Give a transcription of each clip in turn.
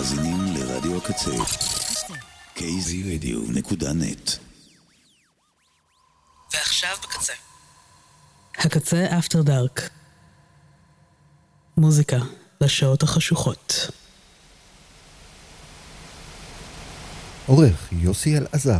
מאזינים לרדיו הקצה kzradio.net. ועכשיו בקצה. הקצה אפטר דארק. מוזיקה לשעות החשוכות. עורך יוסי אלעזר.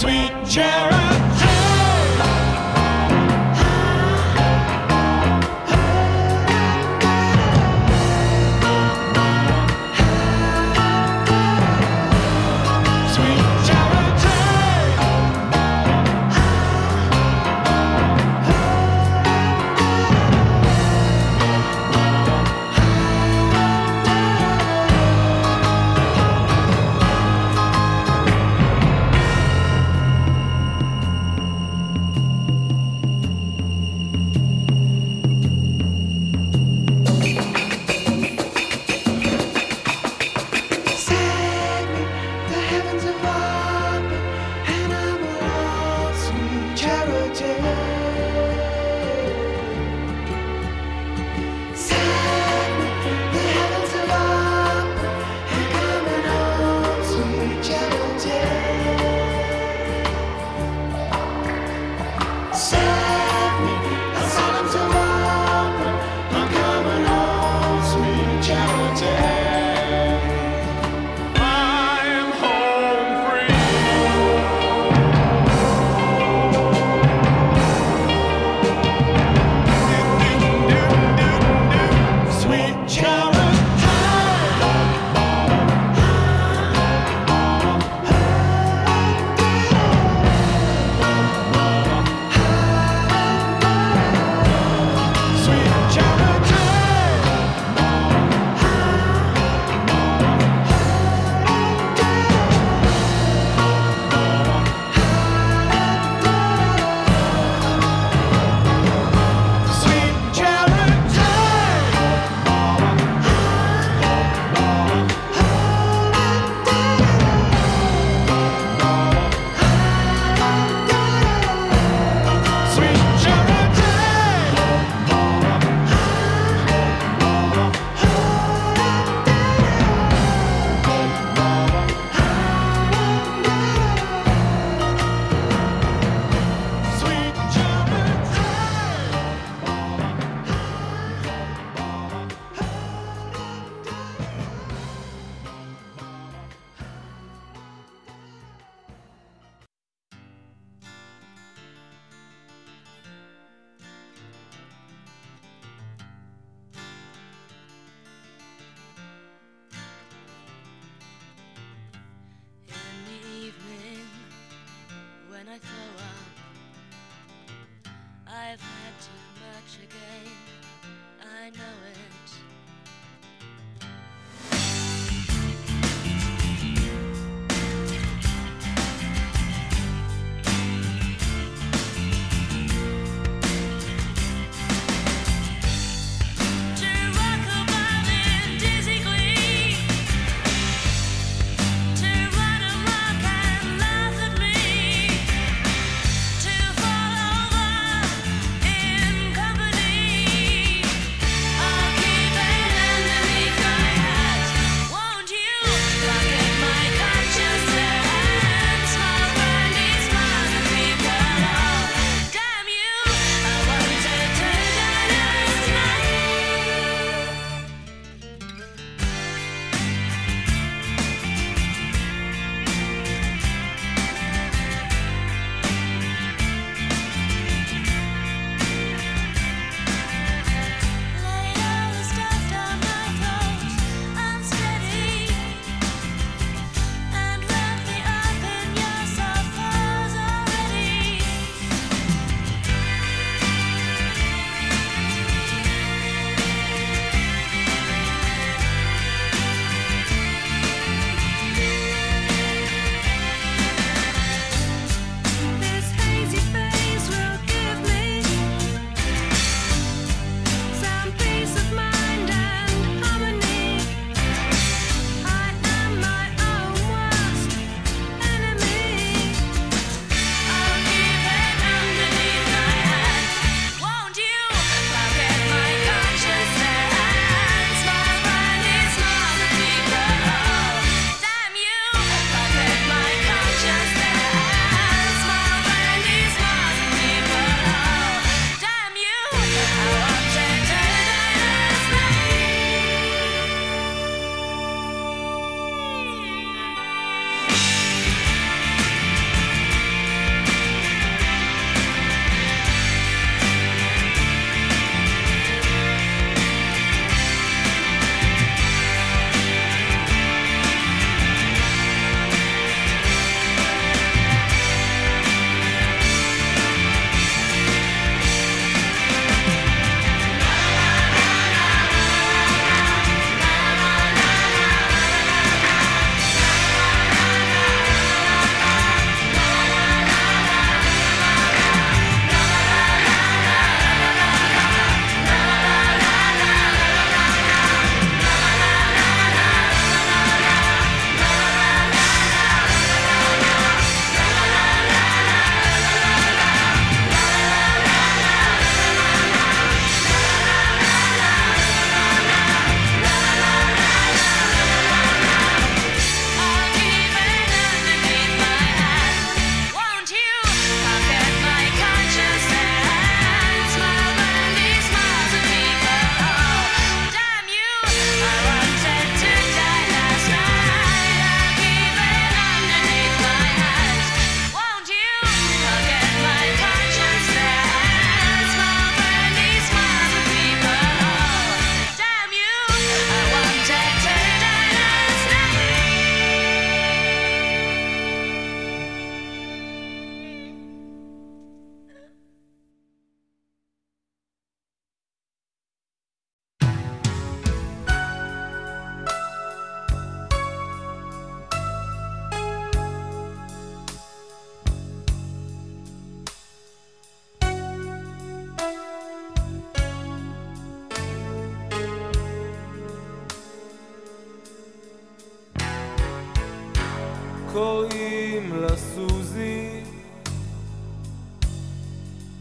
Sweet charity. Keep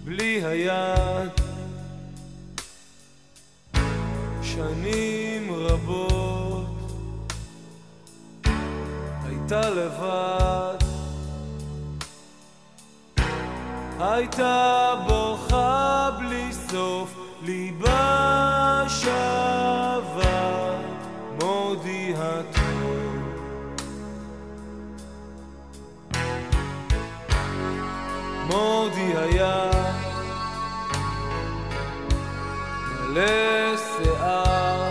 בלי היד. שנים רבות הייתה לבד, הייתה בוכה בלי סוף, ליבה שווה מודי הטוב. מודי היה מלא שיער,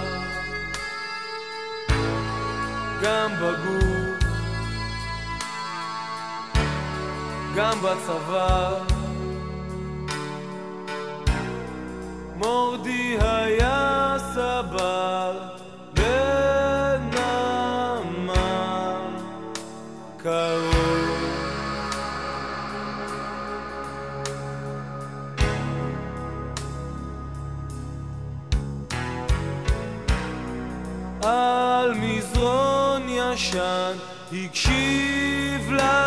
גם בגוף גם בצבא. מורדי היה סבל בנמל קרוב. על מזרון ישן הקשיב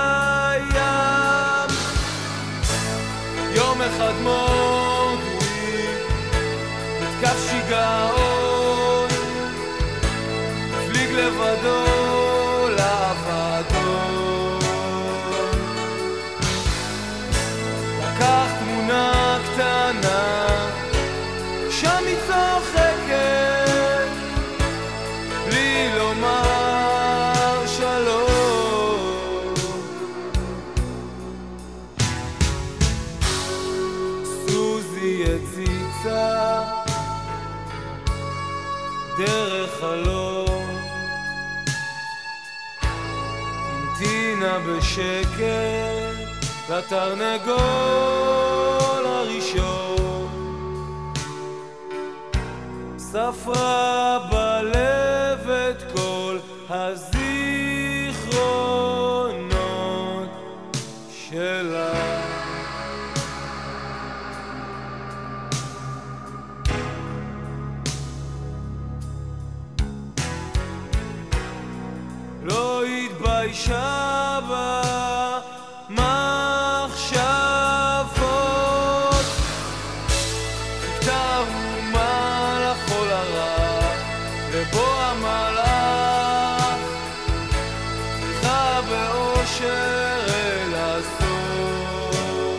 לים. יום אחד מורדי נתקף שיגעון, הפליג לבדו לאבדון. לקח תמונה קטנה, שם היא צוחקת בלי לומר שלום. סוזי הציצה דרך חלום, המתינה בשקט לתרנגול הראשון. ספרה בלב את כל הזיכרונות שלה. לא התביישה במחשבות, חיכתה אומה לחול הרע, ובו המלאך צריכה באושר אל הסוף.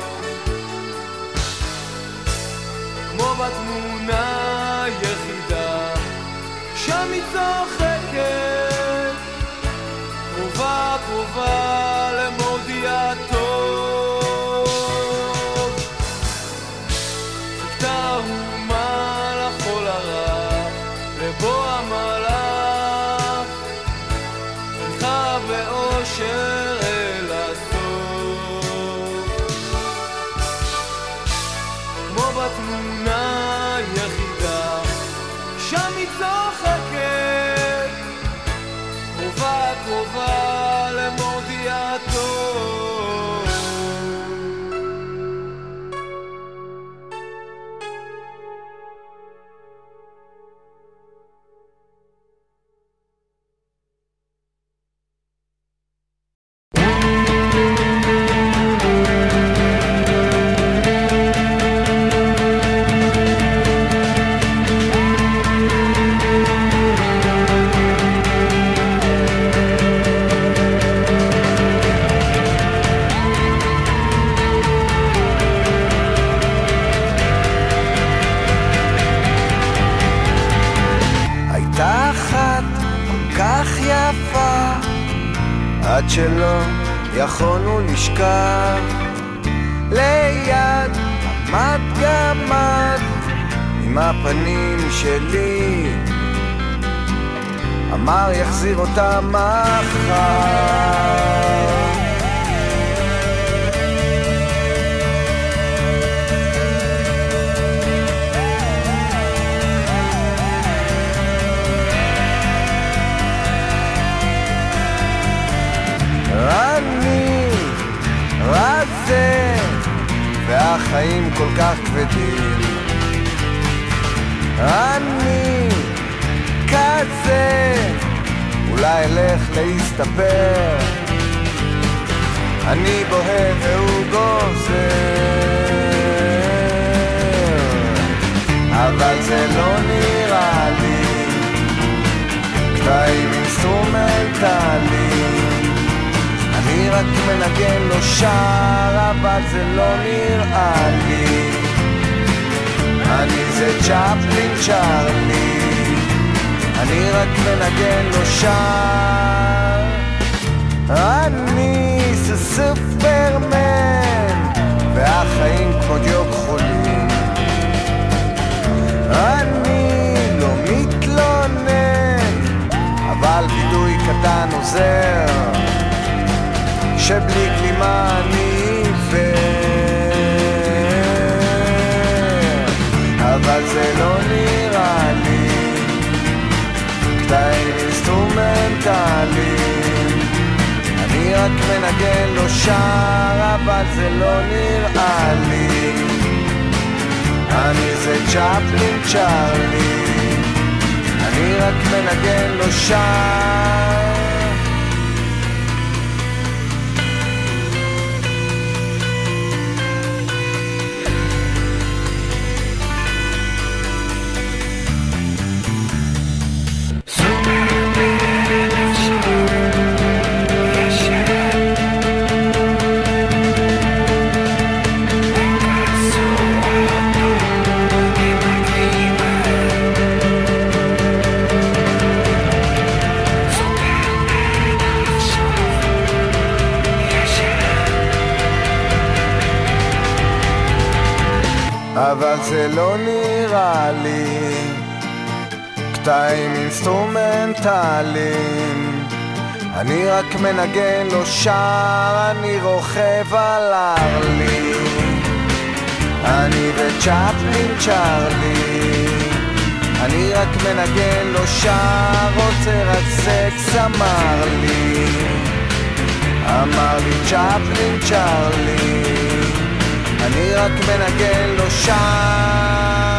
כמו בתמונה יחידה, שם היא צוחקת, קרובה קרובה למורדי הטוב. חיכתה אומה לחול הרע, ובו המלאך צריכה באושר אל הסוף. כמו בתמונה יחידה, שם היא צוחקת, קרובה קרובה למורדי הטוב. עד שלא יכולנו לשכב ליד עמד גמד עם הפנים שלי, אמר יחזיר אותה מחר. אני רזה והחיים כל כך כבדים, אני כזה אולי אלך להסתפר, אני בוהה והוא גוזר. אבל זה לא נראה לי קטעים אינסטרומנטליים, אני רק מנגן לו שר, אבל זה לא נראה לי. אני זה צ'פלין צ'רלי, אני רק מנגן לו שר. אני זה סופרמן, והחיים כמו דיוק חולים. אני לא מתלונן, אבל בידוי קטן עוזר, שבלי כלימה אני עיוור. אבל זה לא נראה לי קטעים אינסטרומנטליים, אני רק מנגן לו שר, אבל זה לא נראה לי. אני זה צ'פלין צ'רלי, אני רק מנגן לו שר. אבל זה לא נראה לי קטעים אינסטרומנטליים, אני רק מנגן לו שר, אני רוכב על ארלי, אני וצ'פלין צ'רלי, אני רק מנגן לו שר, רוצה רק סקס אמר לי צ'פלין צ'רלי, אני רק מנגן לו שם.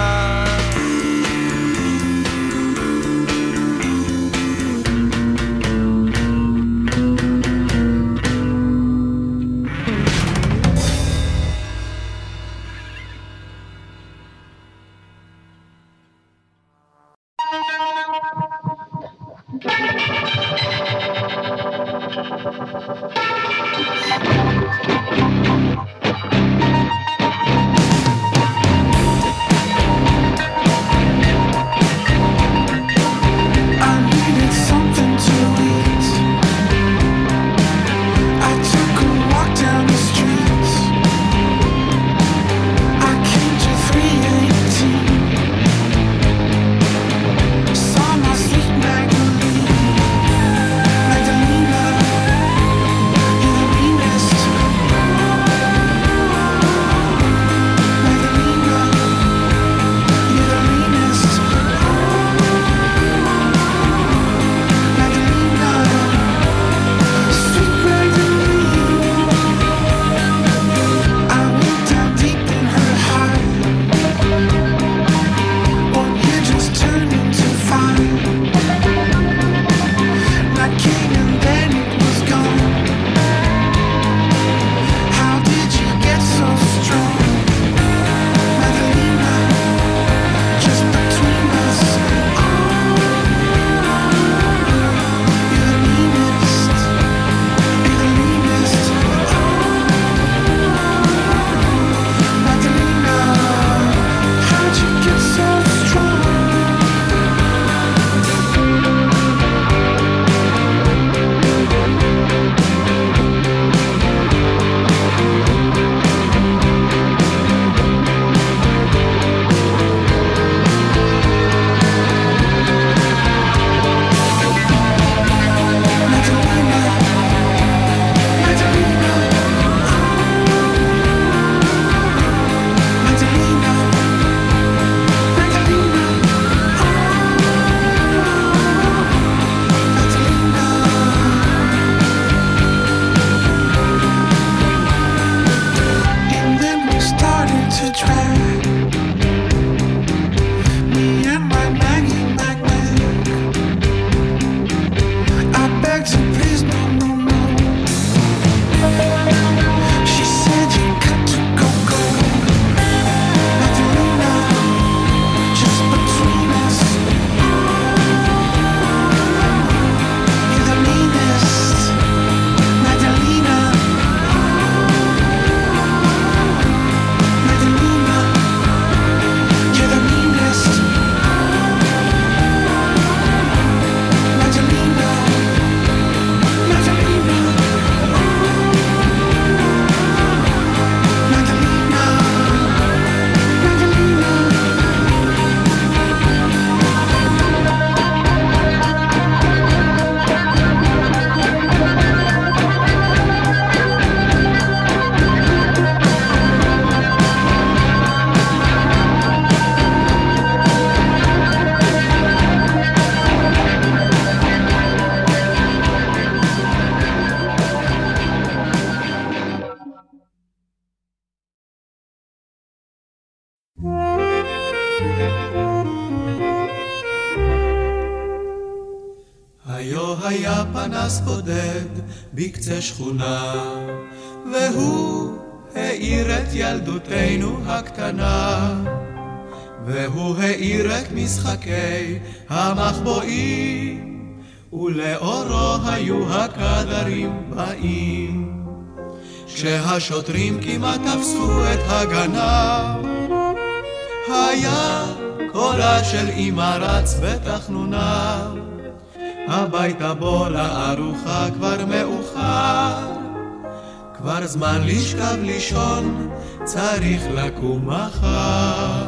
היו היה פנס בודד בקצה שכונה, והוא האיר את ילדותנו הקטנה, והוא האיר את משחקי המחבואים, ולאורו היו הקדרים באים. כשהשוטרים כמעט תפסו את הגנב, היה קולה של אמא רץ בתחנונה, הביתה בוא לארוחה כבר מאוחר, כבר זמן לשכב לישון, צריך לקום מחר.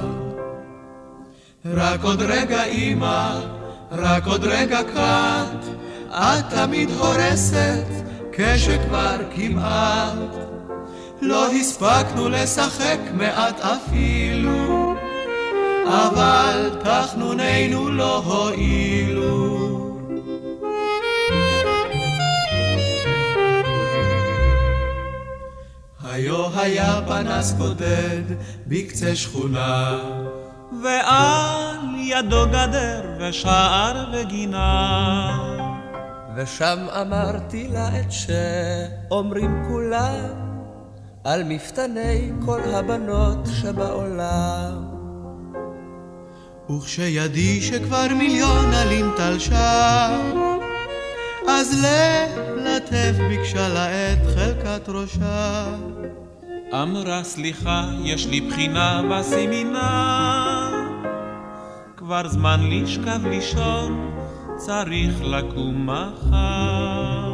רק עוד רגע אמא, רק עוד רגע קט, את תמיד הורסת כשכבר כמעט לא הספקנו לשחק מעט אפילו, אבל תחנוננו לא הועילו. היו היה פנס בודד בקצה שכונה, ועל ידו גדר ושער וגינה, ושם אמרתי לה את שאומרים כולם על מפתני כל הבנות שבעולם. וכשידי שכבר מיליון עלים תלשה, אז ללטף ביקשה לה את חלקת ראשה. אמרה סליחה, יש לי בחינה בסמינר, כבר זמן לשכב לישון, צריך לקום מחר.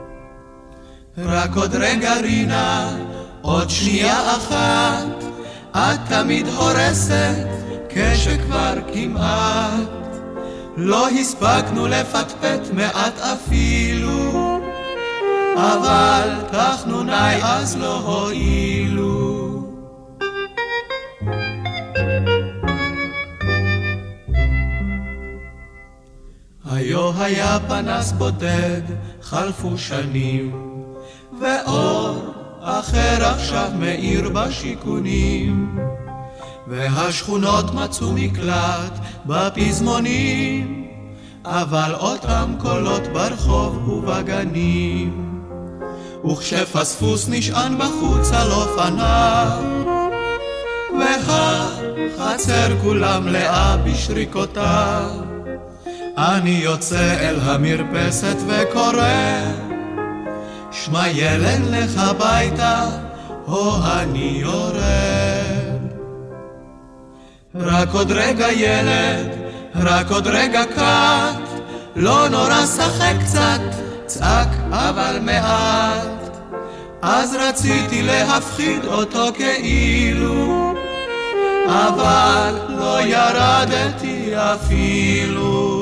רק עוד רגע רינה, עוד שנייה אחת, את תמיד הורסת כשכבר כמעט לא הספקנו לפטפט מעט אפילו, אבל תחנוני אז לא הועילו. היו היה פנס בודד, חלפו שנים, ואור אחר עכשיו מאיר בשיכונים, והשכונות מצאו מקלט בפזמונים, אבל אותם קולות ברחוב ובגנים. וכשפספוס נשען בחוץ על אופניו, והחצר כולה מלאה בשריקותיו, אני יוצא אל המרפסת וקורא, שמע ילד לך הביתה, או אני יורד. רק עוד רגע ילד, רק עוד רגע קט, לא נורא שחק קצת, צעק אבל מעט. אז רציתי להפחיד אותו כאילו, אבל לא ירדתי אפילו.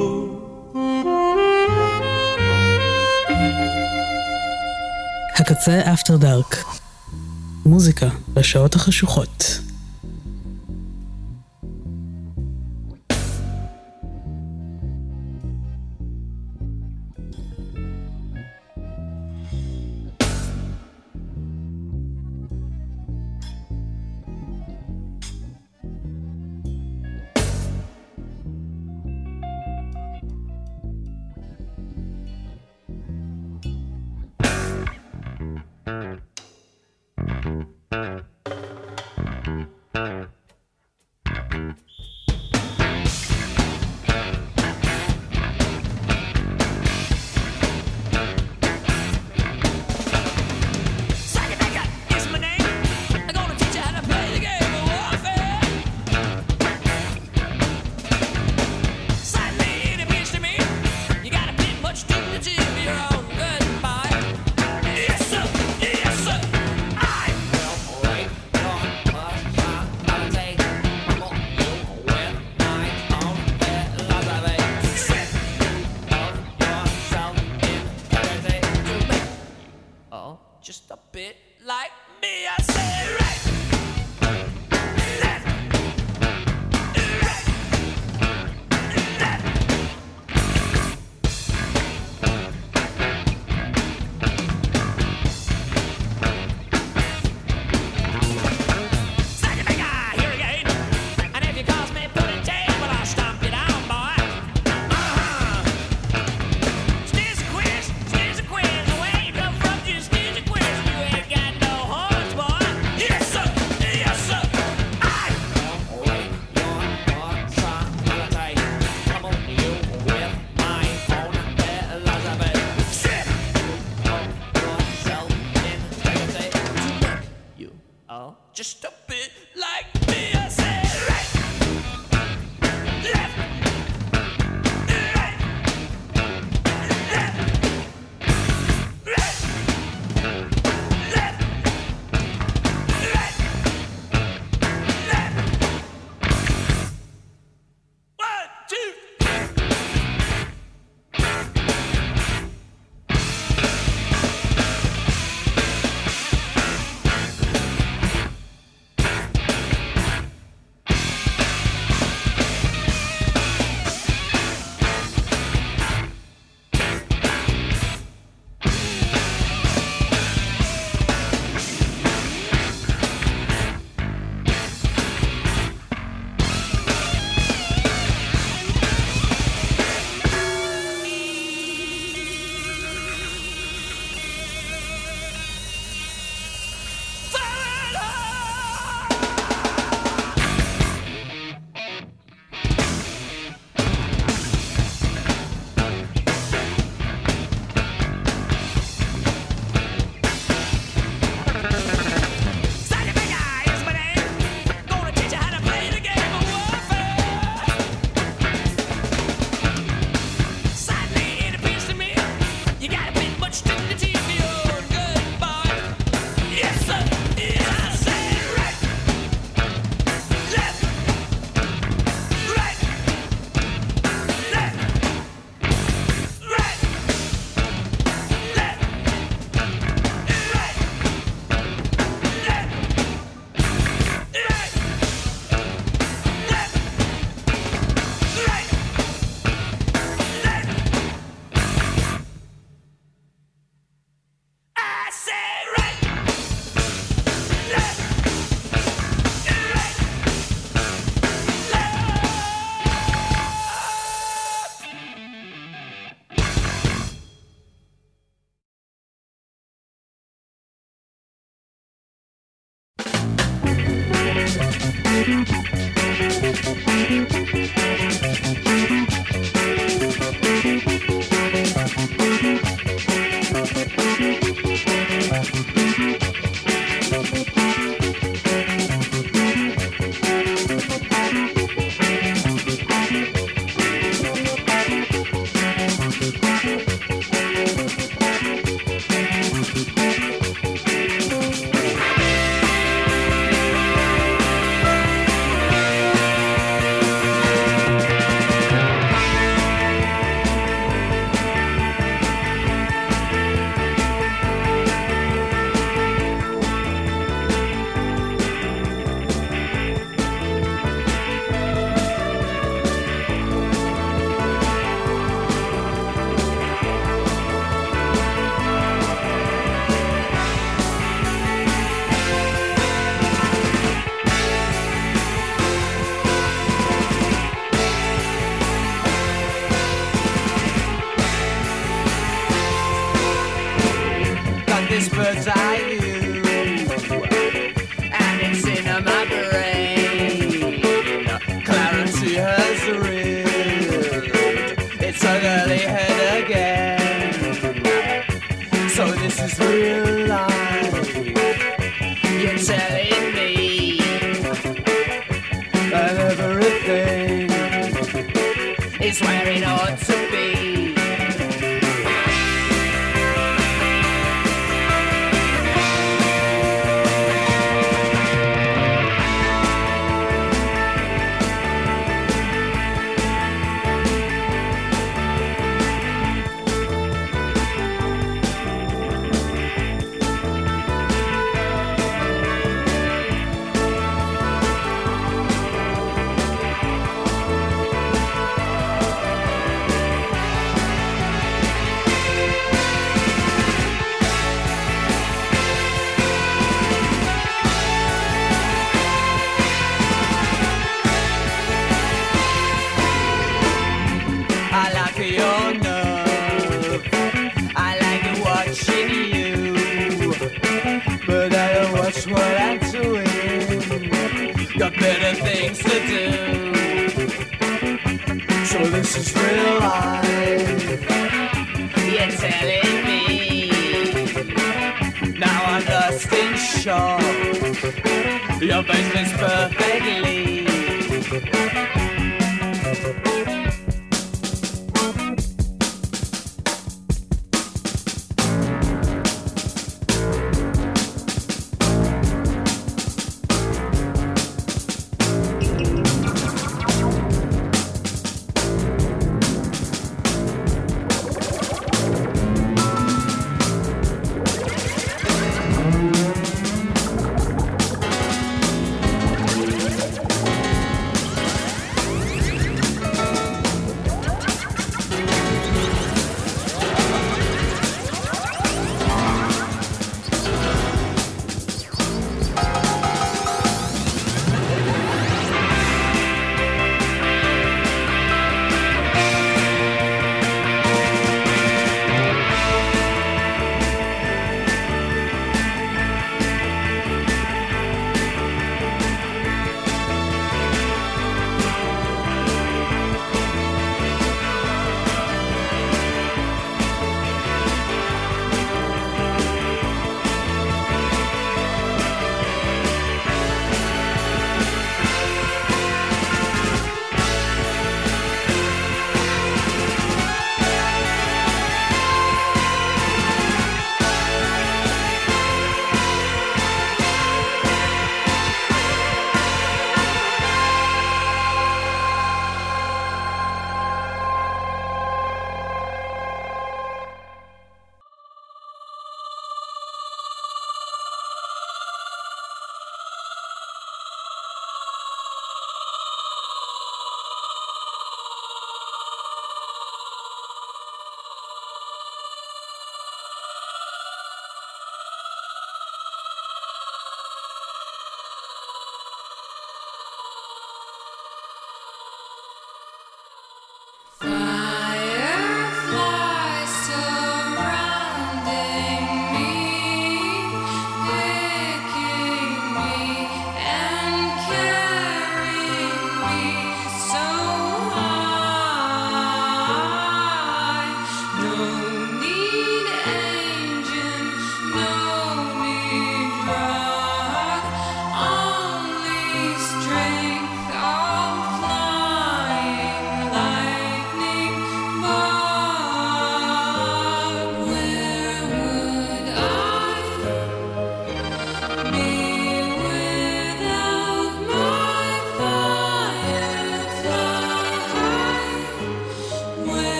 הקצה אפטר דארק, מוזיקה בשעות החשוכות. just a bit like me. I said right, left, right, left, right, left, right, left. 1, 2. This is real life. You're telling me now I'm lost in shock. Your face fits perfectly.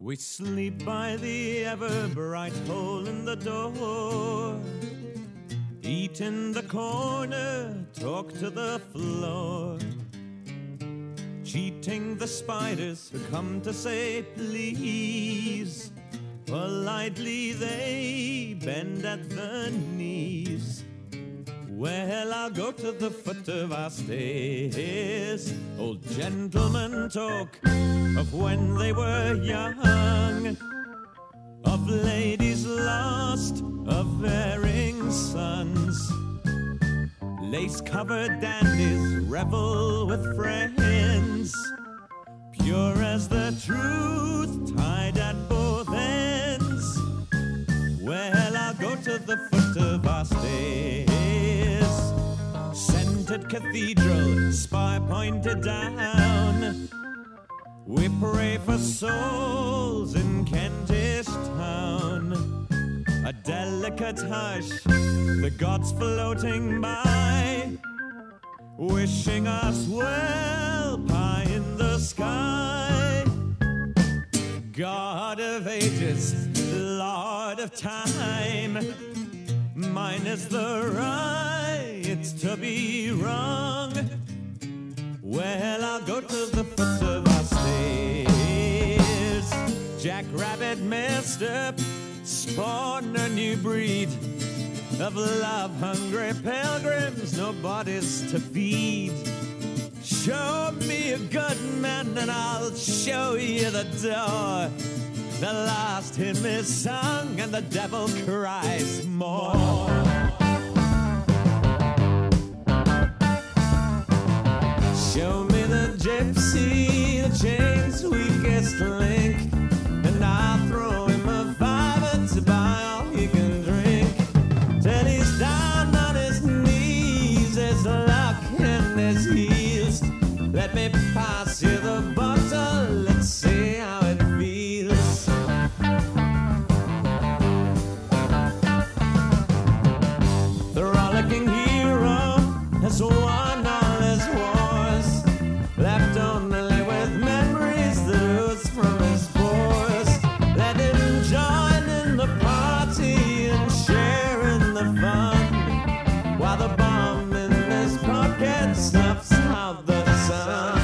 We sleep by the ever-bright hole in the door, eat in the corner, talk to the floor, cheating the spiders who come to say please. Politely they bend at the knees. Well, I'll go to the foot of our stairs. Old gentlemen talk of when they were young, of ladies lost, of erring sons. Lace-covered dandies revel with friends, pure as the truth, tied at both ends. Well, I'll go to the foot of our stairs. Scented cathedral, spire pointed down. We pray for souls in Kentish town. A delicate hush, the gods floating by, wishing us well, pie in the sky. God of ages, Lord of time, mine is the right to be wrong. Well, I'll go to the foot of our stairs. Jack Rabbit messed up, spawned a new breed of love-hungry pilgrims, no bodies to feed. Show me a good man and I'll show you the door. The last hymn is sung and the devil cries more. Show me the gypsy, the chain's weakest link, and I'll throw him a $5 to buy all he can drink. Till he's down on his knees, his luck in his heels. Let me pass you the bottle, let's see how it feels. The rollicking hero has won all his wars, left only with memories that ooze from his pores. Let him join in the party and share in the fun, while the bomb in his pocket snuffs out the sun.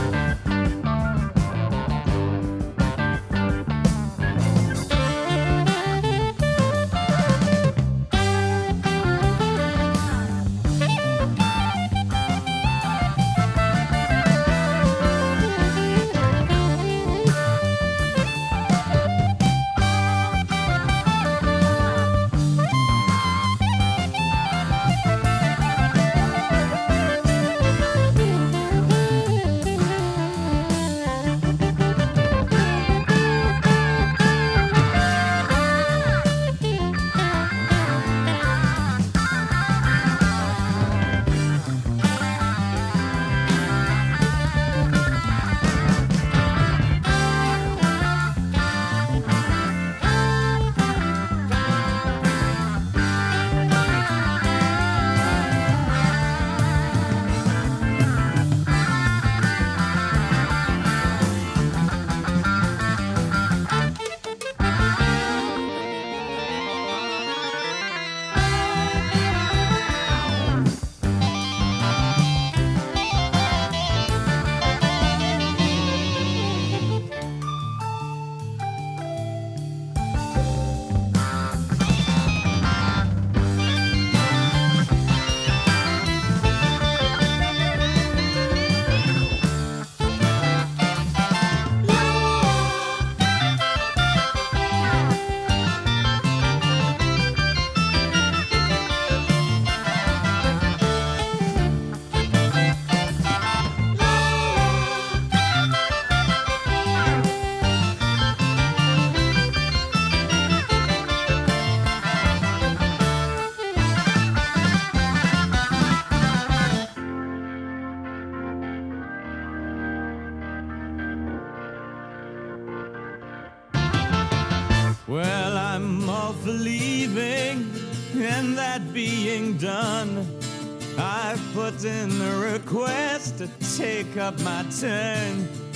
Well, I'm all for leaving and that being done. I've put in the request to take up my turn.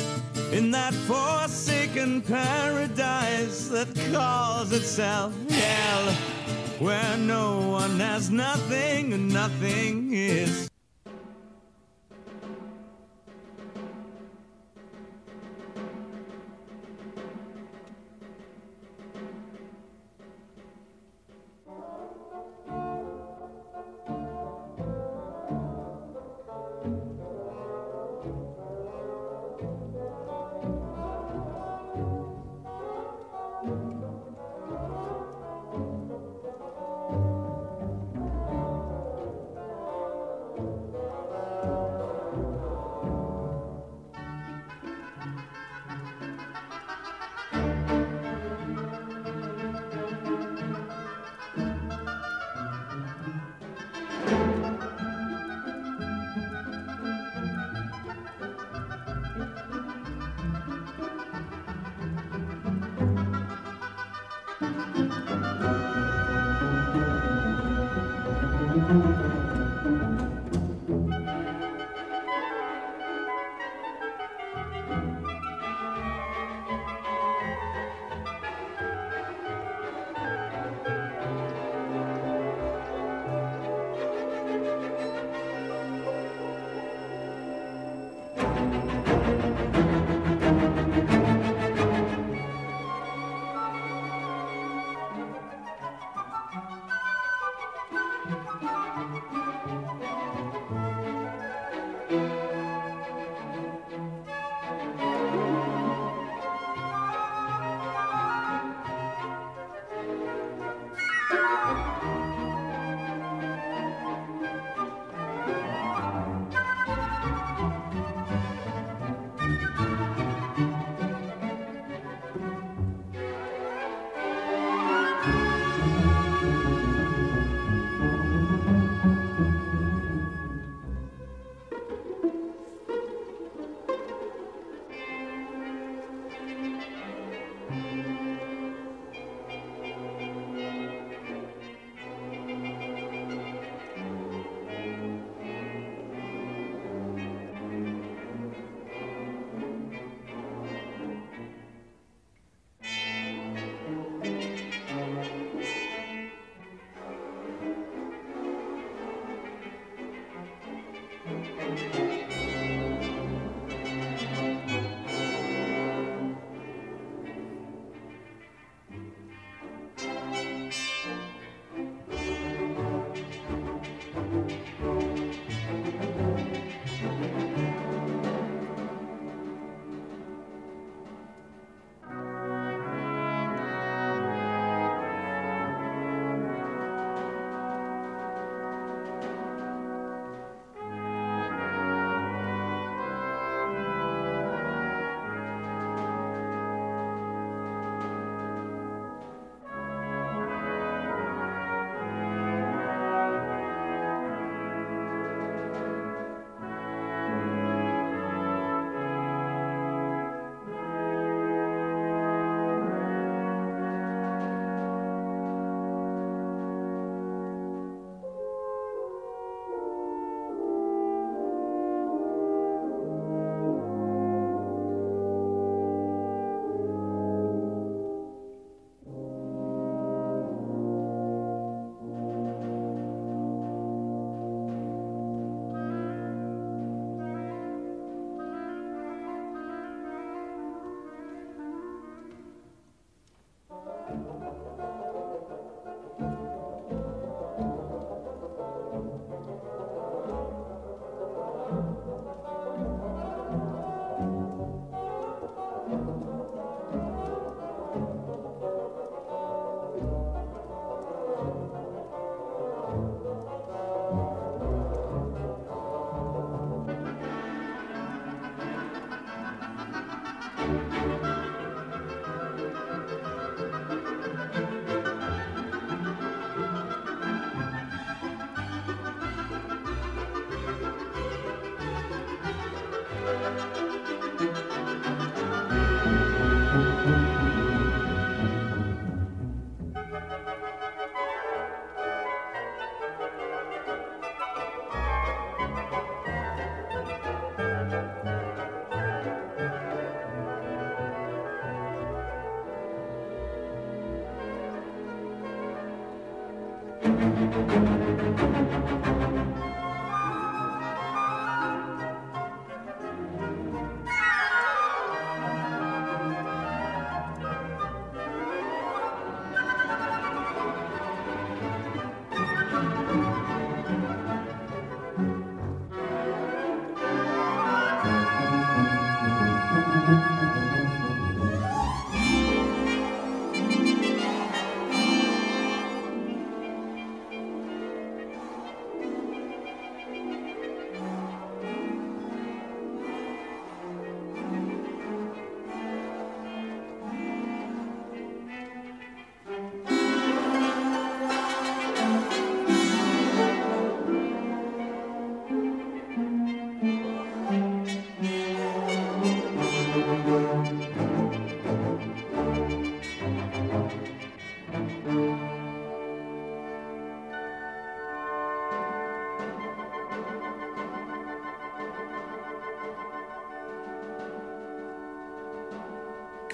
in that forsaken paradise that calls itself hell, where no one has nothing and nothing is.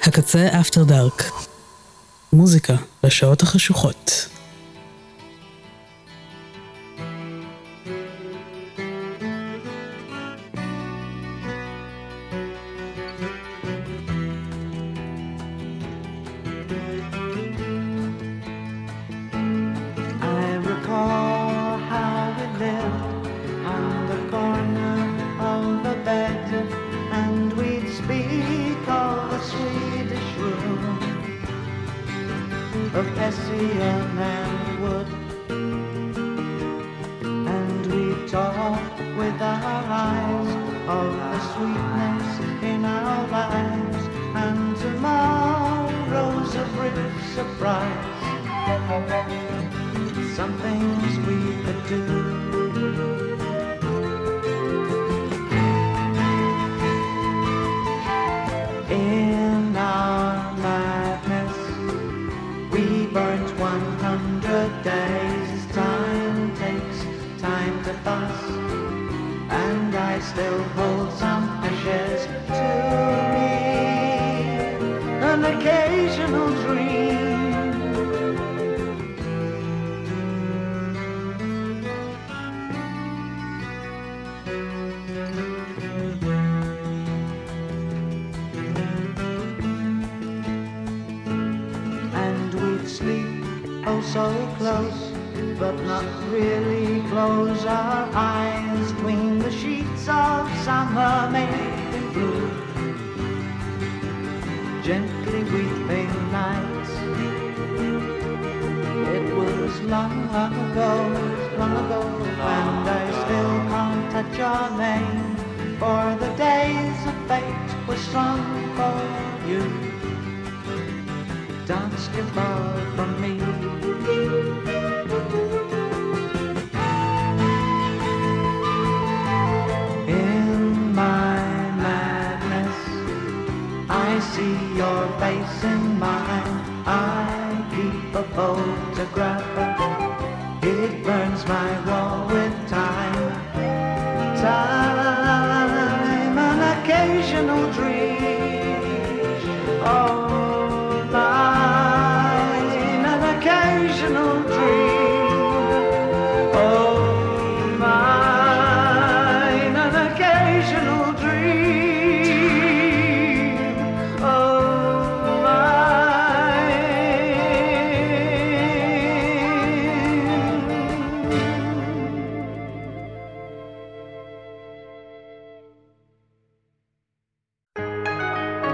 הקצה אפטר דארק. מוזיקה בשעות החשוכות. Of Hessian and wood, and we talk with our eyes of the sweetness in our lives, and tomorrow's a brief surprise, some things we could do. In our madness we burnt 100 days. Time takes time to pass, and I still hold some ashes to me, an occasional dream. Oh, so close, but not really close our eyes between the sheets of summer made in blue. Gently weeping nights. It was long ago, and I still can't touch your name, for the days of fate were strong for you. Dance your love from me. In my madness, I see your face in mine. I keep a photograph. It burns my wall with time. Time, an occasional dream. Oh, mine, an occasional dream. Oh, mine, an occasional dream. Oh, mine.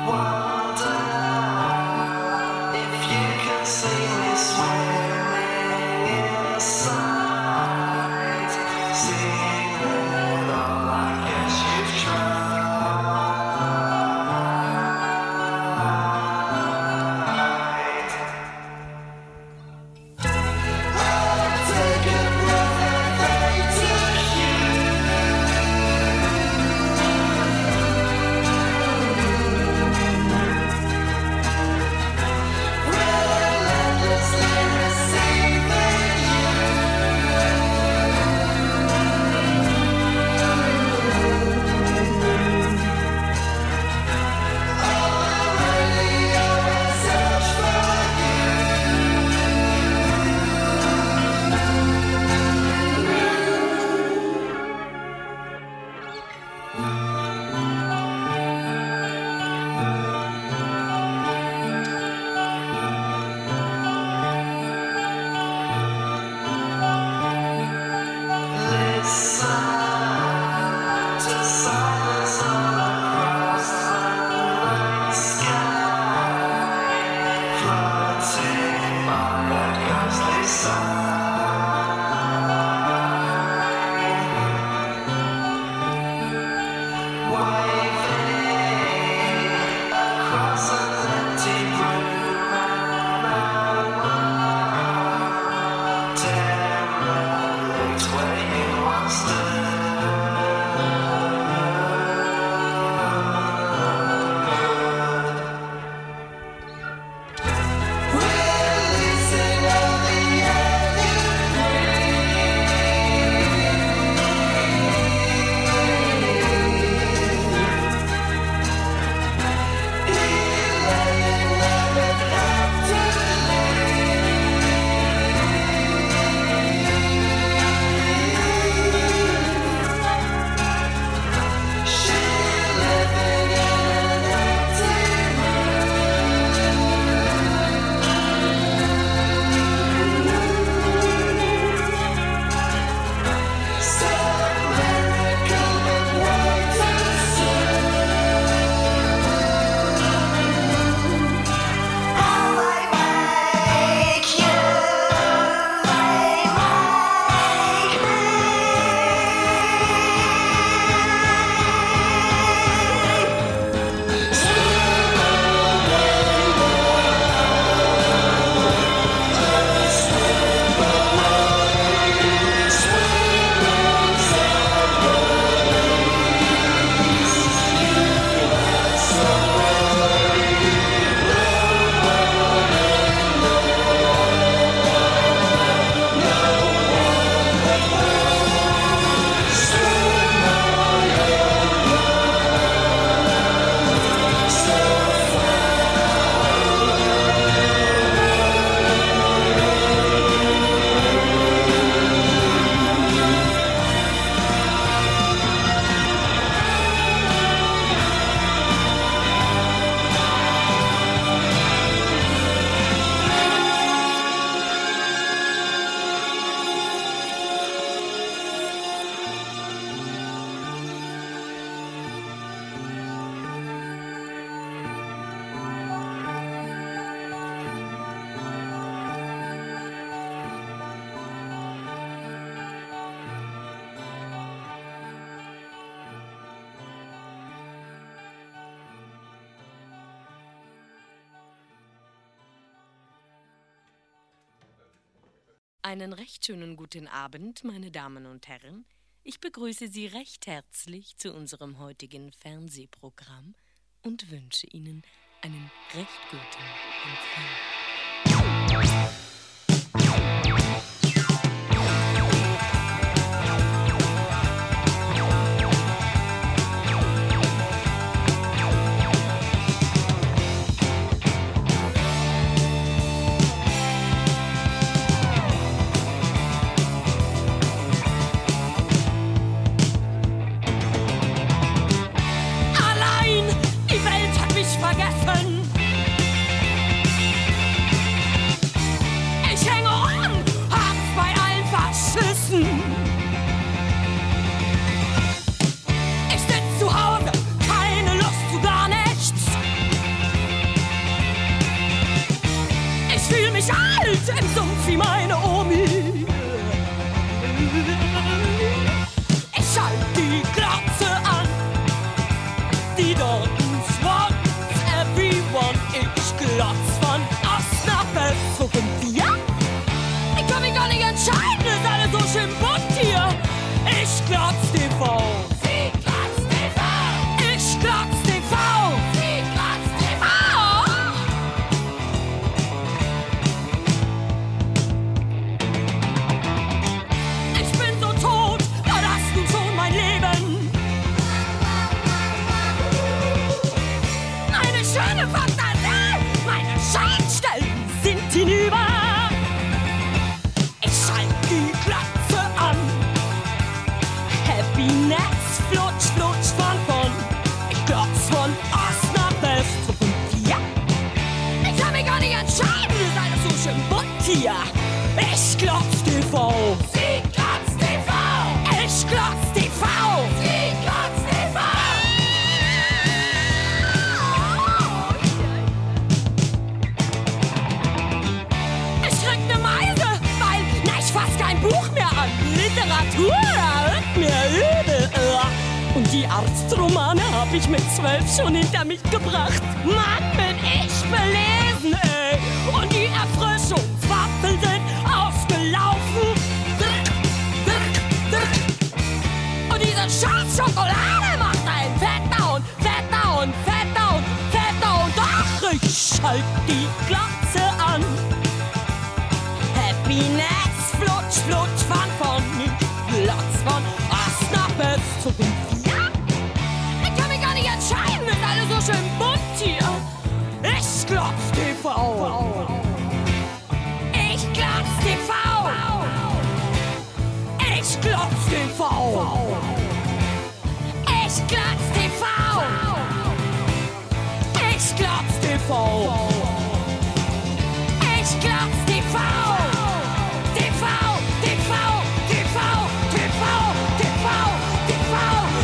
Einen recht schönen guten Abend, meine Damen und Herren. Ich begrüße Sie recht herzlich zu unserem heutigen Fernsehprogramm und wünsche Ihnen einen recht guten Empfang. Ich hänge an Sumpf wie meine Omi. Ich schalt die Glotze an, die Dortens wants everyone. Ich glotz von Ost nach West, so 5 Jahre. Ich kann mich gar nicht entscheiden, ist alles so schön bunt hier. Ich glotz TV. Sie glotz TV. Ich glotz TV. Sie glotz TV. Ich bin so tot, da hast du schon mein Leben. Meine schöne Fantasie, meine Scheinstellen sind hinüber. Ich schalt die Glotze an. Happiness, flutsch, flutsch von. Ich glotz von Ost nach West, so 5 Jahre. Ich kann mich gar nicht entscheiden, ist alles so schön bunt hier. Ich glotz TV. Sie glotz TV. Ich glotz TV. Sie glotz TV. Ich krieg ne Meise, weil, ich fass kein Buch mehr an. Literatur wird mir übel. Und die Arztromane hab ich mit 12 schon hinter mich gebracht. Mann, bin ich belesen, ey. Und die Erfrischungswaffeln sind ausgelaufen. Drück, drück, drück. Und diese scheiß Schokolade macht einen fetter und fetter und fetter und fetter. Und ach, ich schalt die Glotze an. Happiness, flutsch, flutsch von. Ich glotz von Ost nach West, so 5 Jahre. Ich kann mich gar nicht entscheiden, ist alles so schön bunt hier. Ich glotz TV. Ich glotz TV. Ich glotz TV. Ich glotz TV. Ich glotz TV. Ich glotz TV. TV, TV, TV, TV, TV, TV,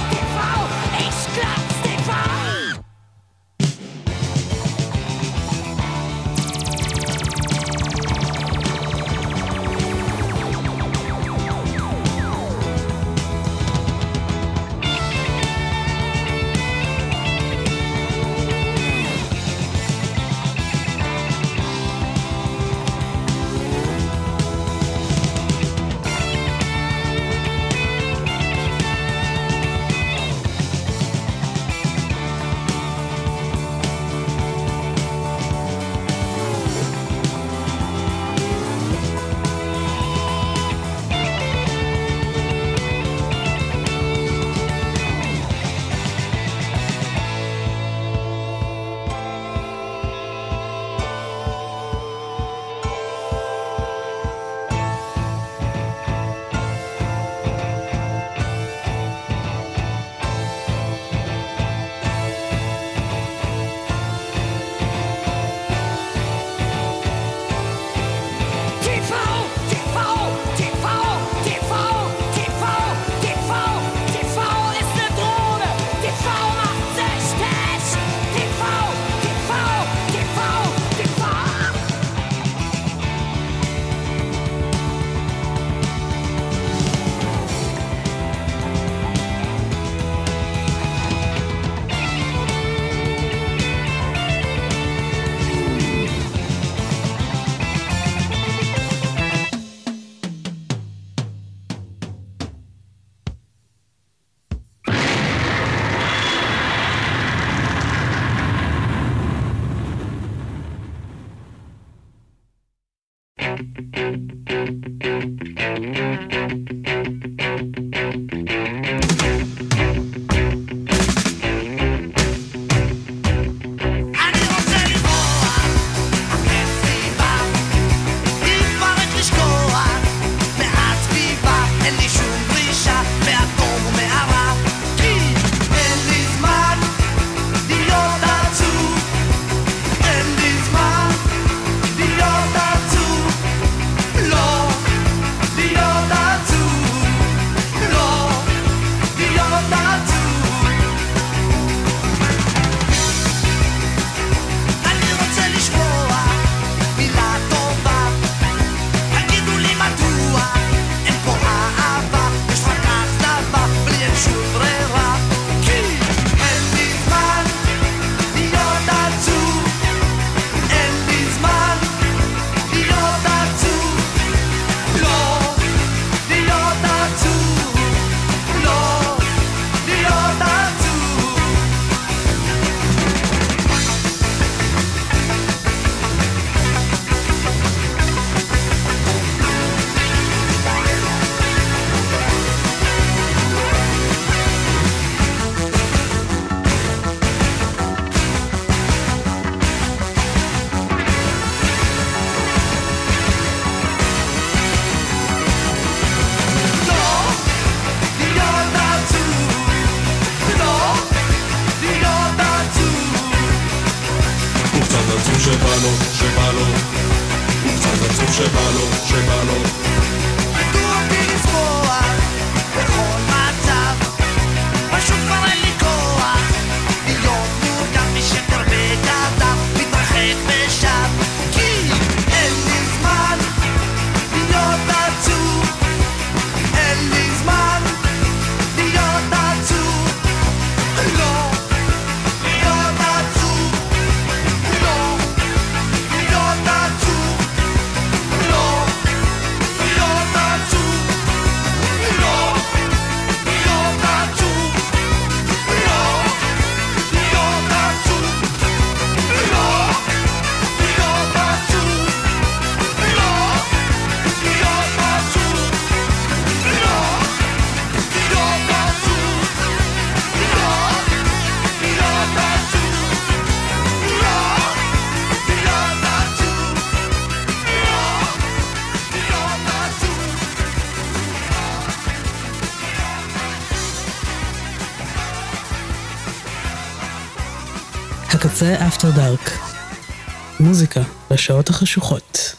TV. Ich glotz TV. לא שבא לו, שבא לו, הוא קצת עצוב שבא לו, שבא לו. מדוע בי לצבוע בכל מצב, פשוט כבר אין לי כוח להיות מודע משקר בגדה, מתרחק ושב, כי אין לי זמן להיות עצוב, אין לי זמן להיות עצוב, לא להיות עצוב, לא להיות עצוב, לא להיות עצוב, לא להיות עצוב, לא להיות עצוב, לא להיות עצוב, לא להיות עצוב, לא להיות עצוב, הקצה אפטר דארק. מוזיקה בשעות החשוכות.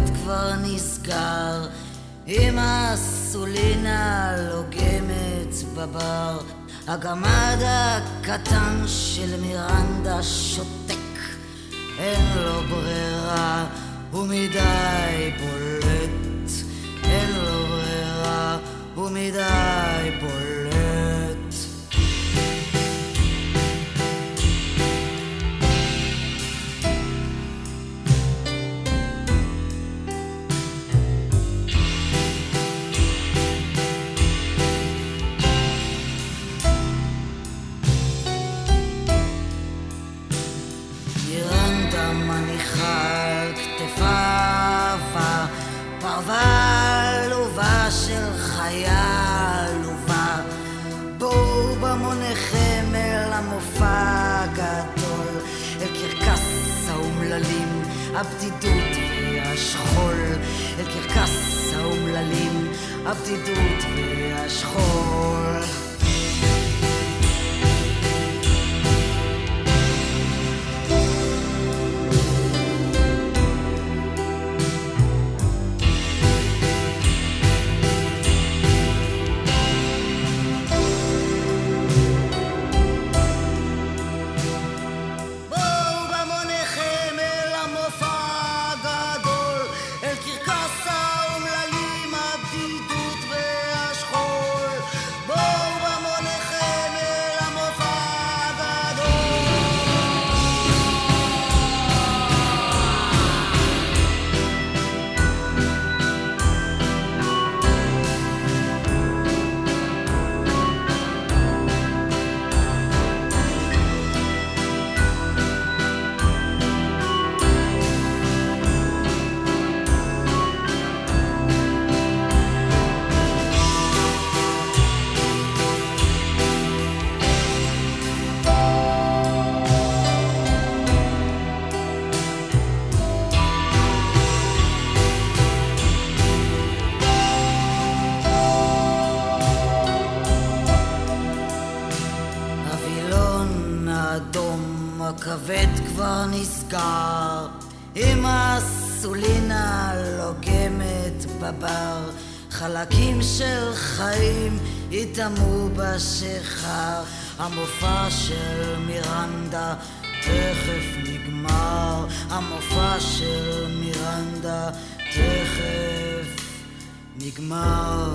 כבר נסגר, עם הסולינה לוגמת בבר, הגמד הקטן של מירנדה שותק, אין לו ברירה, הוא מדי בולט, אין לו ברירה, הוא מדי בולט. פרווה עלובה של חיה עלובה, בואו במוניכם אל המופע הגדול, אל קרקס האומללים, הבדידות והשכול, אל קרקס האומללים, הבדידות והשכול. הכבד כבר נסגר, עם הסולינה לוגמת בבר, חלקים של חיים יתאמו בשיכר, המופע של מירנדה תכף נגמר, המופע של מירנדה תכף נגמר.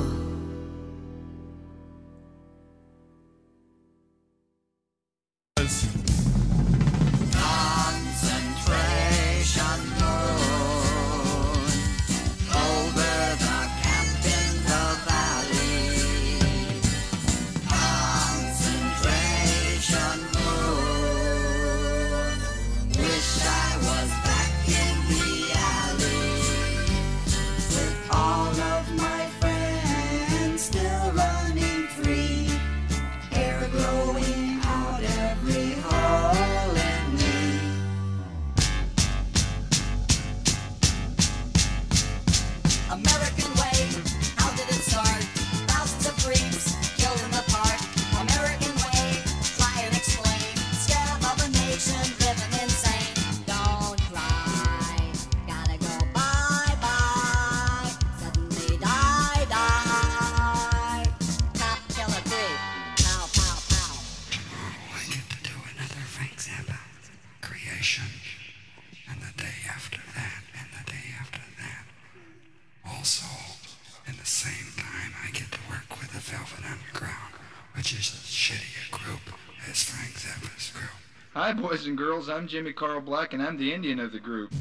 Hi, boys and girls. I'm Jimmy Carl Black, and I'm the Indian of the group.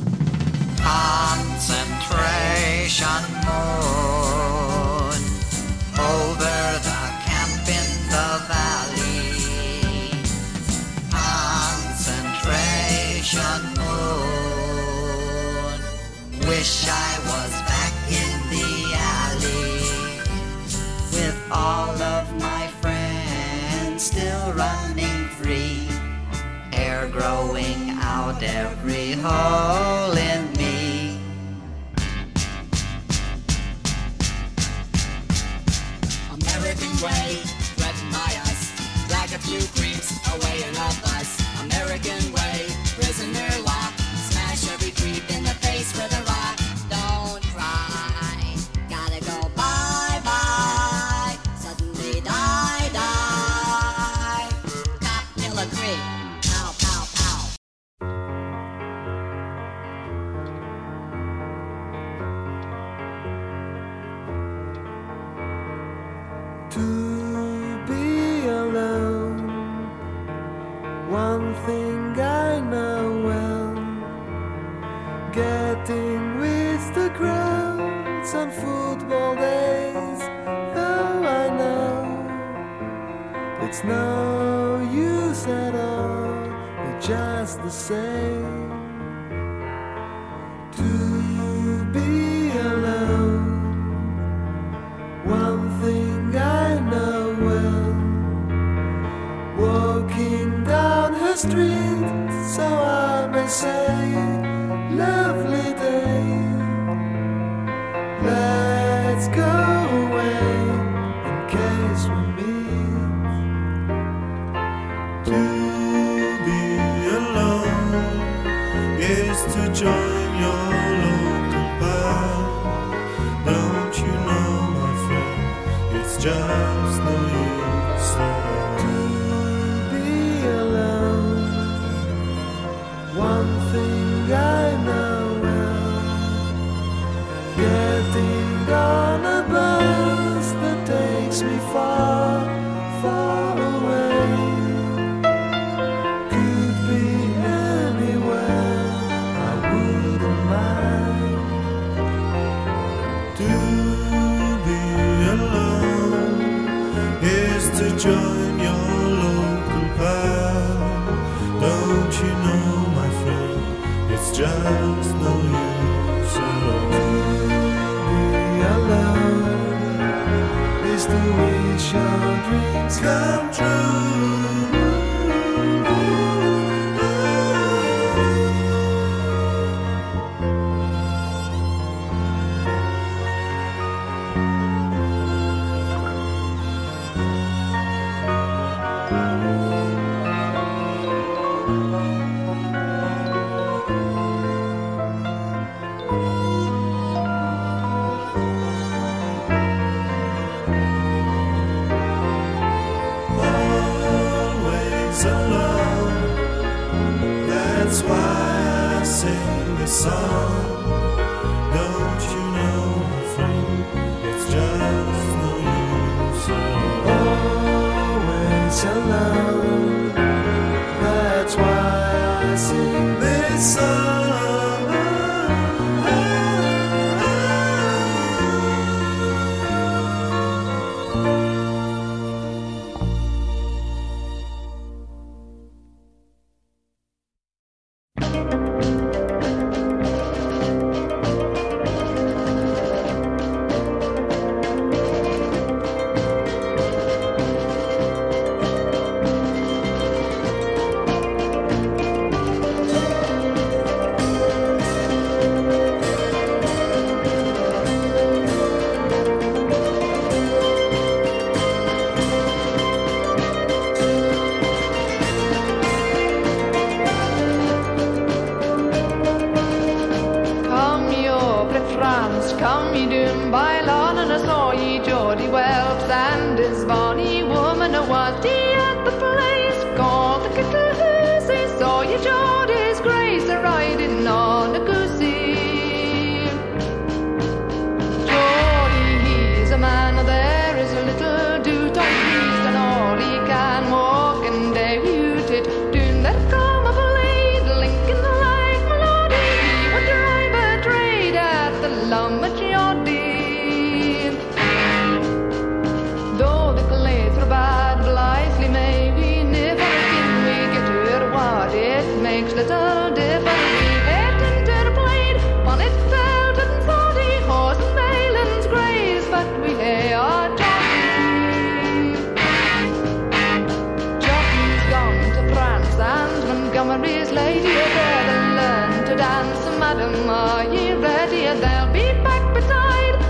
Concentration moon over the camp in the valley. Concentration moon. Wish I was back in the alley with all of my friends still running free. Hair growing out every hole in me. American way, threatened by us. Drag a few creeps away in a bus. American way, prisoner lock. Smash every creep in the face with a rock. miserable days, though I know it's no use at all, they're just the same. To be alone, one thing I know well, walking down her street, so I may say, lovely day, let's go away in case we meet. To be alone is to join your local bar. Don't you know, my friend, it's just no use at all. To be alone, one thing I know well, getting on a bus that takes me far, far away, could be anywhere, I wouldn't mind. To be alone is to join your local band. Don't you know, my friend, it's just no use at all. Be alone is to wish your dreams come true. Always alone, that's why I sing this song. Don't you know, my friend, it's just no use at all. Always alone, that's why I sing this song. Come ye doom by lawn and I saw ye Geordie Welps and his bonny woman a was at the place called the Kittle. Saw ye Geordie's grace a riding on a goosey. Geordie, he's a man, there is a little do tight beast and all he can walk and they woot it. Doon that come of a lady, Lincoln the life melody, he would drive a trade at the Lumber though the glaze were bad, blithely may we never again we get to what it makes little difference. We hit into the blade, on it felt and 40 horse and Malin's graze, but we lay our jockey. Jockey's gone to France and Montgomery's lady there to learn to dance. Madam, are ye ready? They'll be back beside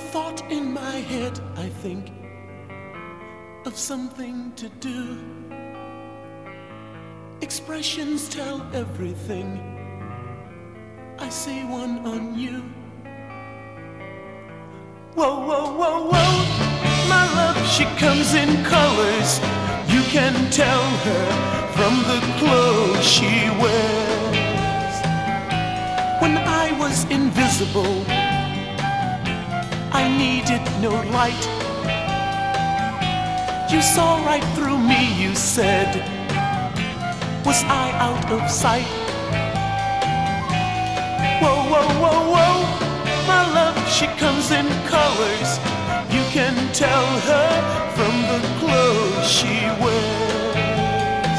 thought in my head, I think of something to do. Expressions tell everything. I see one on you. Whoa, whoa, whoa, whoa. My love, she comes in colors. You can tell her from the clothes she wears. When I was invisible, I needed no light. You saw right through me, you said. Was I out of sight? Whoa, whoa, whoa, whoa. My love, she comes in colors. You can tell her from the clothes she wears.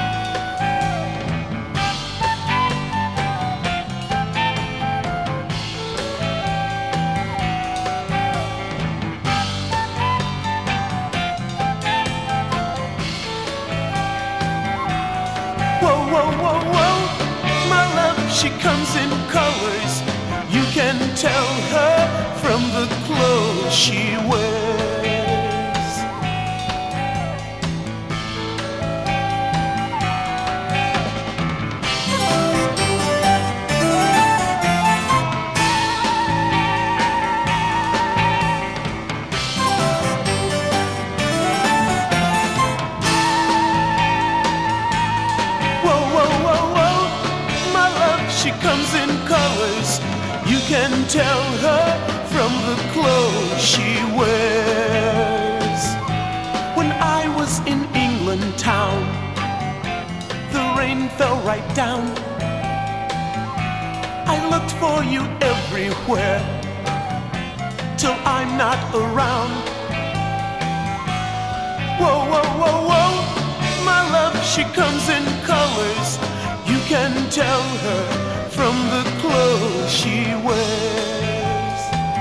Whoa, whoa, whoa, whoa. My love, she comes in colors. You can tell her from the clothes she wears. Whoa, whoa, whoa, whoa. My love, she comes in colors. You can tell her from the clothes she wears. When I was in England town, the rain fell right down. I looked for you everywhere till I'm not around. Whoa, whoa, whoa, whoa. My love, she comes in colors. You can tell her from the clothes she wears.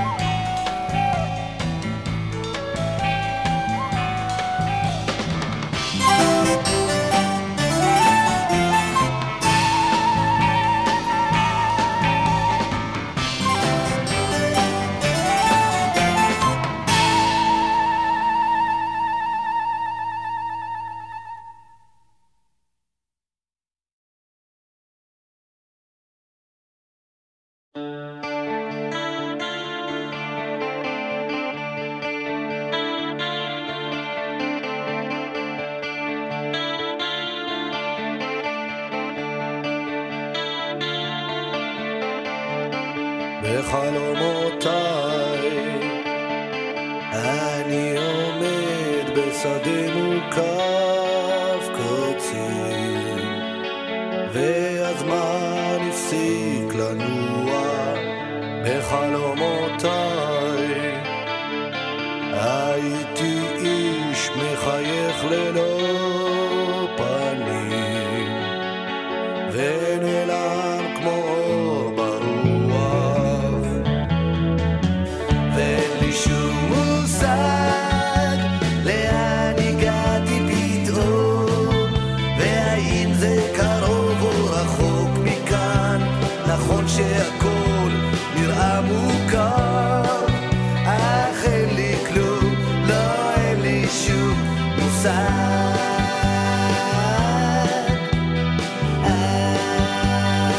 בחלומותיי אני עומד בשדה מוקף קוצים והזמן הפסיק לנוע בחלומותיי הייתי איש מחייך ללא פנים ונעלם כמו שהכל נראה מוכר אך אין לי כלום, לא אין לי שום מושג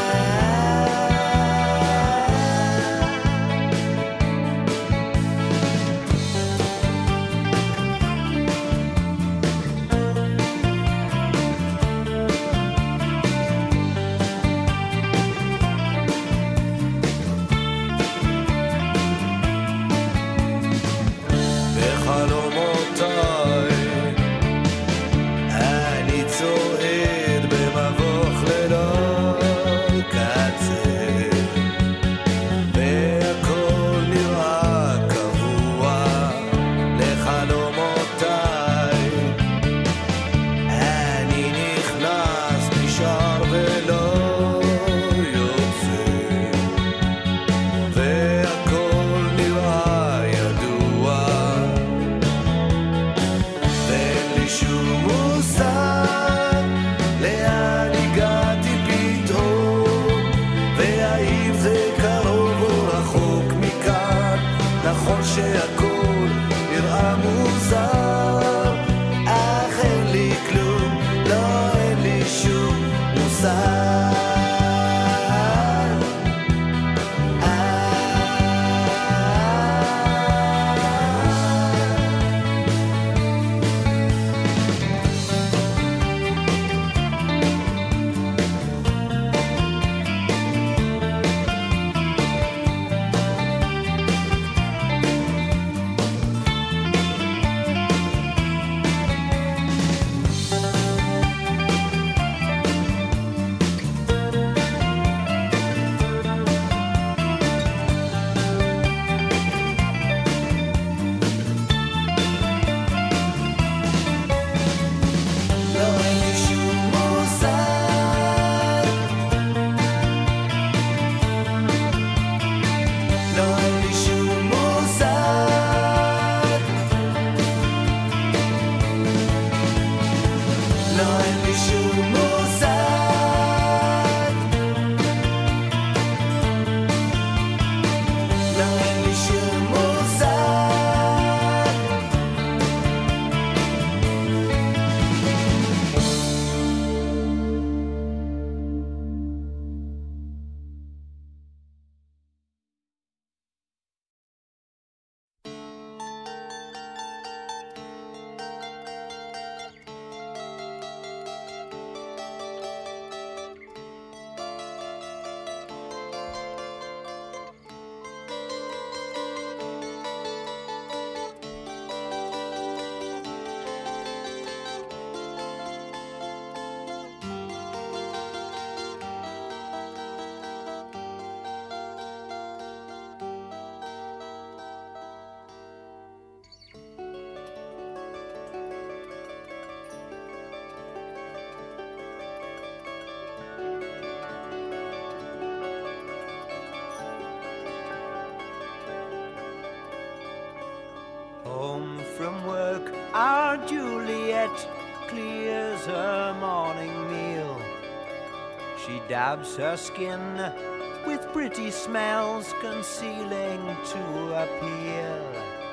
from work, our Juliet clears her morning meal. She dabs her skin with pretty smells concealing to appeal.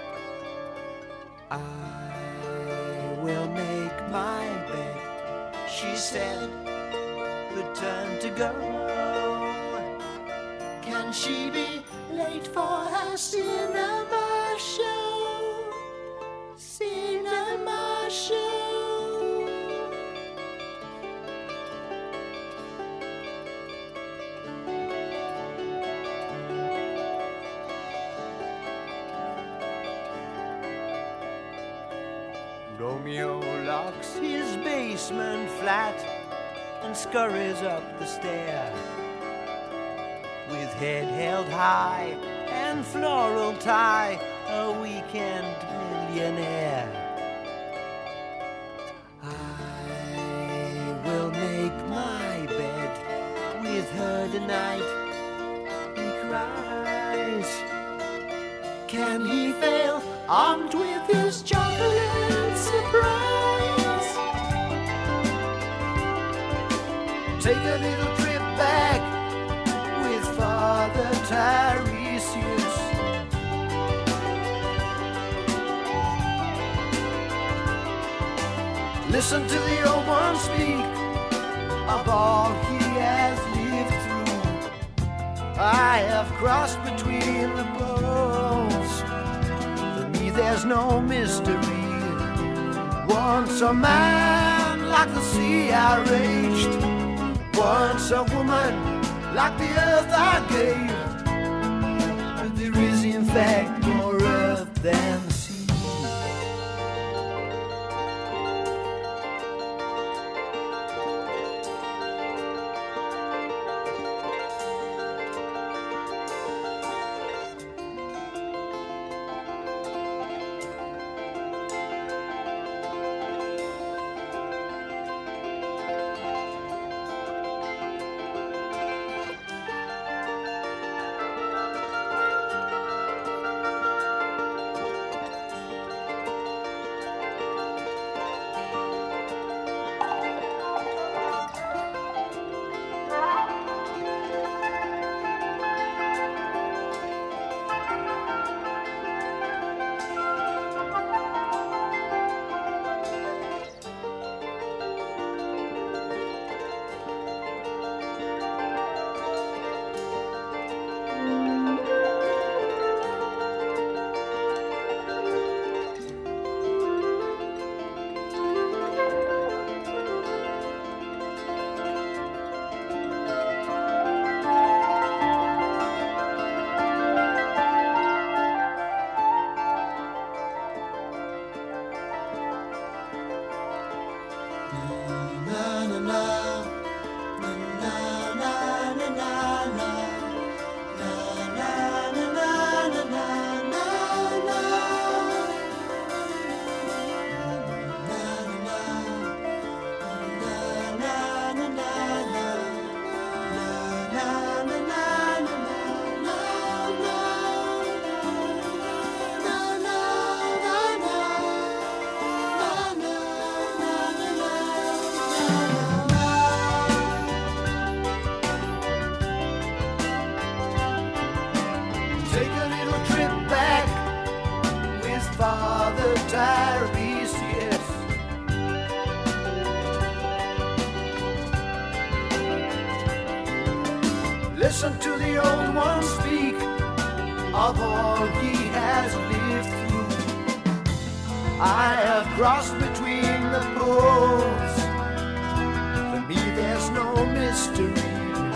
I will make my bed, she said, return to go. Can she be late for her cinema show? Cinema show. Romeo locks his basement flat and scurries up the stair. With head held high and floral tie, a weekend millionaire. I will make my bed with her tonight, he cries. Can he fail, armed with his chocolate surprise? Take a little trip back with Father Tiresias. Listen to the old one speak of all he has lived through. I have crossed between the poles. For me there's no mystery. Once a man like the sea I raged. Once a woman like the earth I gave. But there is in fact more earth than sea. Listen to the old one speak of all he has lived through. I have crossed between the poles. For me there's no mystery.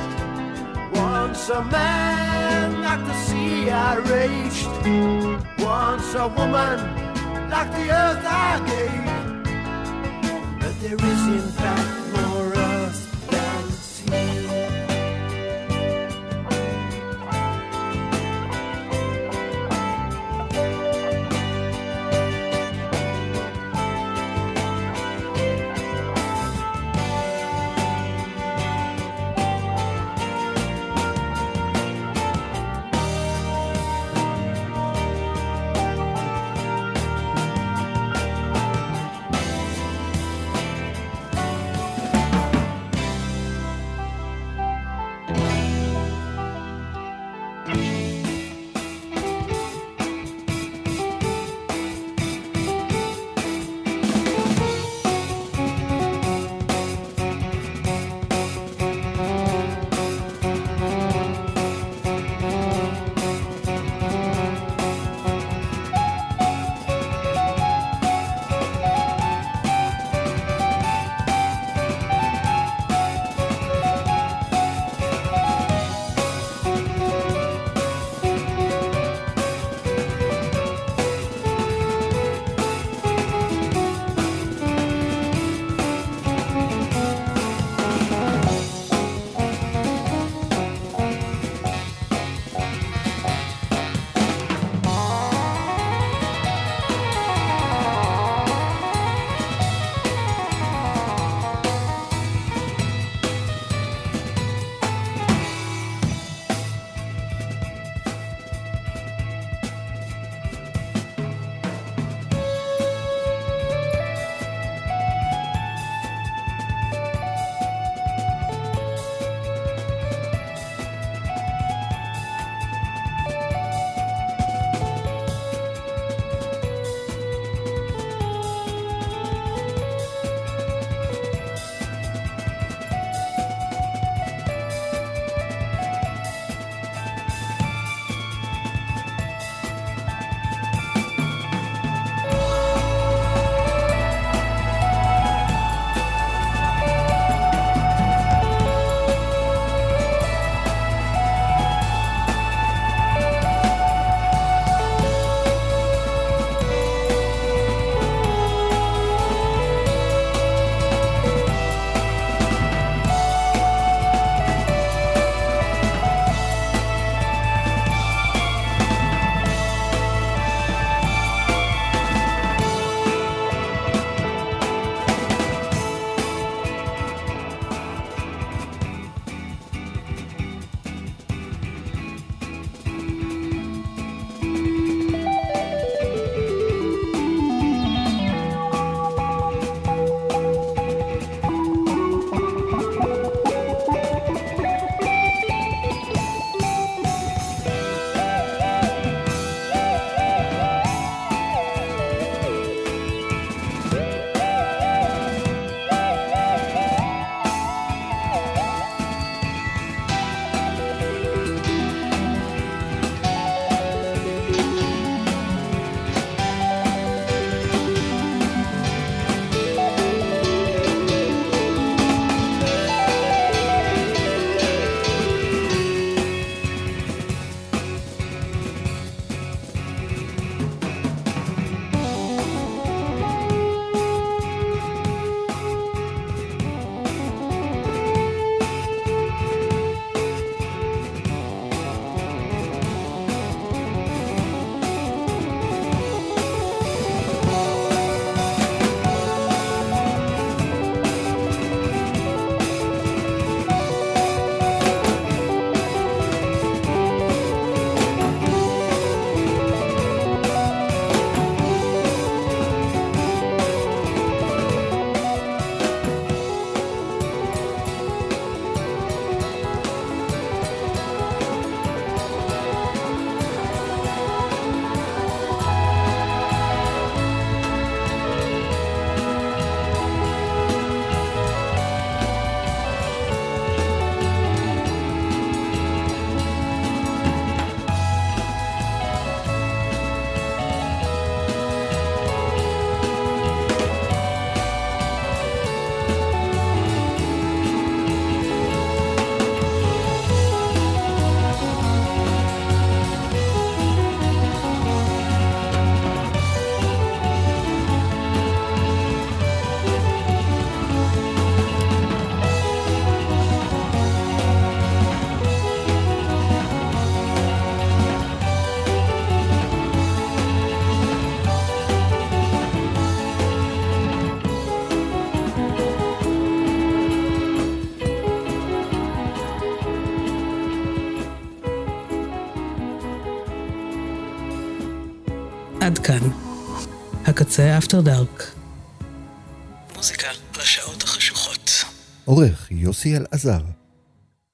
Once a man like the sea I raged. Once a woman like the earth I gave. But there is in fact more earth than sea. עד כאן. הקצה אפטר דארק. מוזיקה לשעות החשוכות. עורך יוסי אלעזר.